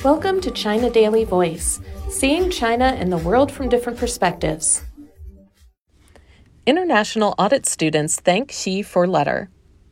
Welcome to China Daily Voice, seeing China and the world from different perspectives. International audit students thank Xi for letter.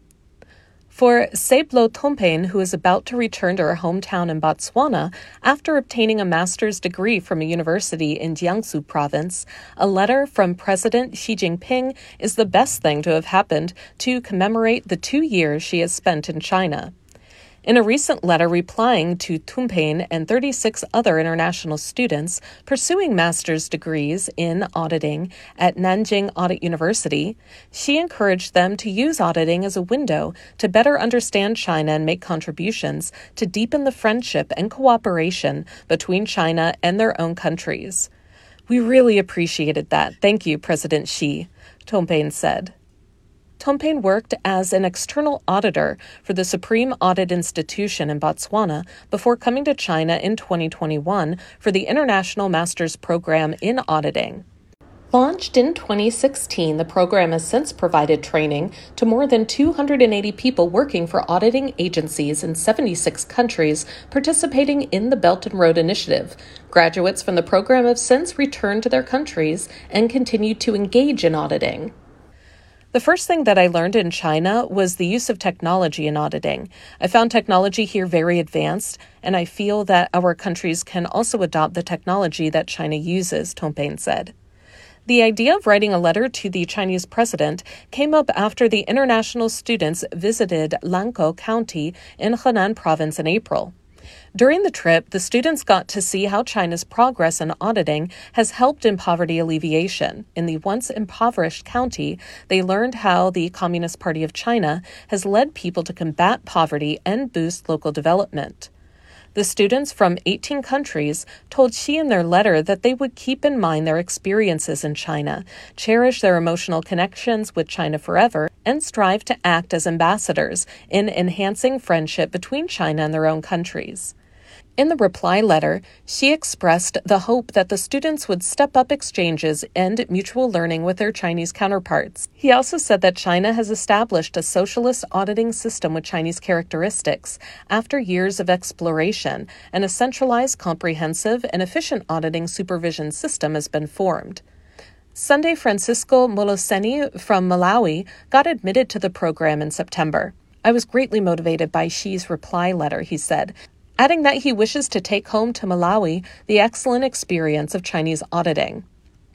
For Seblo Tompen, who is about to return to her hometown in Botswana after obtaining a master's degree from a university in Jiangsu province, a letter from President Xi Jinping is the best thing to have happened to commemorate the 2 years she has spent in China. In a recent letter replying to Tompen and 36 other international students pursuing master's degrees in auditing at Nanjing Audit University, she encouraged them to use auditing as a window to better understand China and make contributions to deepen the friendship and cooperation between China and their own countries. "We really appreciated that. Thank you, President Xi," Tompen said. Tompen worked as an external auditor for the Supreme Audit Institution in Botswana before coming to China in 2021 for the International Master's Program in Auditing. Launched in 2016, the program has since provided training to more than 280 people working for auditing agencies in 76 countries participating in the Belt and Road Initiative. Graduates from the program have since returned to their countries and continued to engage in auditing. The first thing that I learned in China was the use of technology in auditing. I found technology here very advanced, and I feel that our countries can also adopt the technology that China uses, Tompen said. The idea of writing a letter to the Chinese president came up after the international students visited Lankou County in Henan province in April. During the trip, the students got to see how China's progress in auditing has helped in poverty alleviation. In the once impoverished county, they learned how the Communist Party of China has led people to combat poverty and boost local development. The students from 18 countries told Xi in their letter that they would keep in mind their experiences in China, cherish their emotional connections with China forever, and strive to act as ambassadors in enhancing friendship between China and their own countries. In the reply letter, Xi expressed the hope that the students would step up exchanges and mutual learning with their Chinese counterparts. He also said that China has established a socialist auditing system with Chinese characteristics after years of exploration, and a centralized, comprehensive, and efficient auditing supervision system has been formed. Sunday Francisco Moloseni from Malawi got admitted to the program in September. "I was greatly motivated by Xi's reply letter," he said, adding that he wishes to take home to Malawi the excellent experience of Chinese auditing.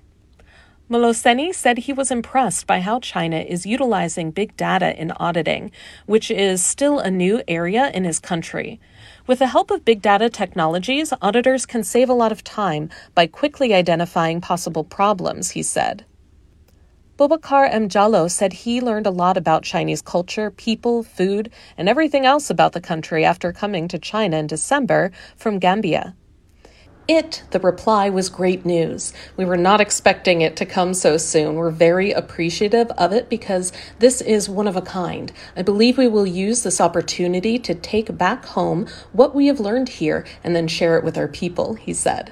Moloseni said he was impressed by how China is utilizing big data in auditing, which is still a new area in his country. With the help of big data technologies, auditors can save a lot of time by quickly identifying possible problems, he said. Boubacar Mjallo said he learned a lot about Chinese culture, people, food, and everything else about the country after coming to China in December from Gambia. The reply was great news. We were not expecting it to come so soon. We're very appreciative of it because this is one of a kind. I believe we will use this opportunity to take back home what we have learned here and then share it with our people, he said.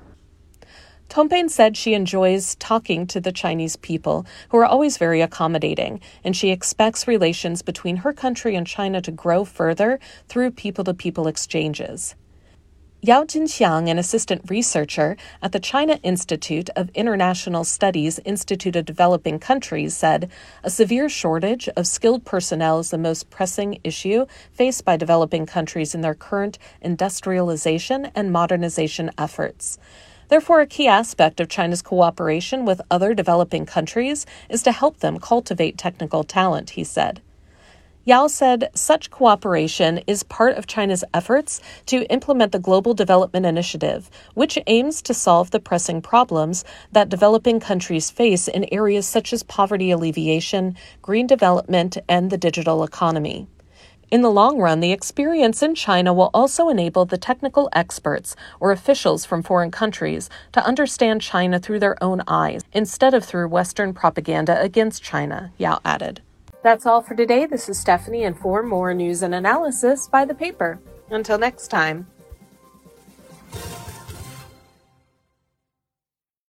Tompen said she enjoys talking to the Chinese people, who are always very accommodating, and she expects relations between her country and China to grow further through people-to-people exchanges. Yao Jinxiang, an assistant researcher at the China Institute of International Studies Institute of Developing Countries, said, "A severe shortage of skilled personnel is the most pressing issue faced by developing countries in their current industrialization and modernization efforts. Therefore, a key aspect of China's cooperation with other developing countries is to help them cultivate technical talent," he said. Yao said such cooperation is part of China's efforts to implement the Global Development Initiative, which aims to solve the pressing problems that developing countries face in areas such as poverty alleviation, green development, and the digital economy. In the long run, the experience in China will also enable the technical experts or officials from foreign countries to understand China through their own eyes, instead of through Western propaganda against China, Yao added. That's all for today. This is Stephanie, and for more news and analysis, buy the paper. Until next time.